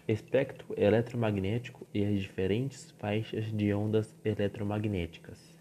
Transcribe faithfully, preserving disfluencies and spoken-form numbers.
espectro eletromagnético e as diferentes faixas de ondas eletromagnéticas.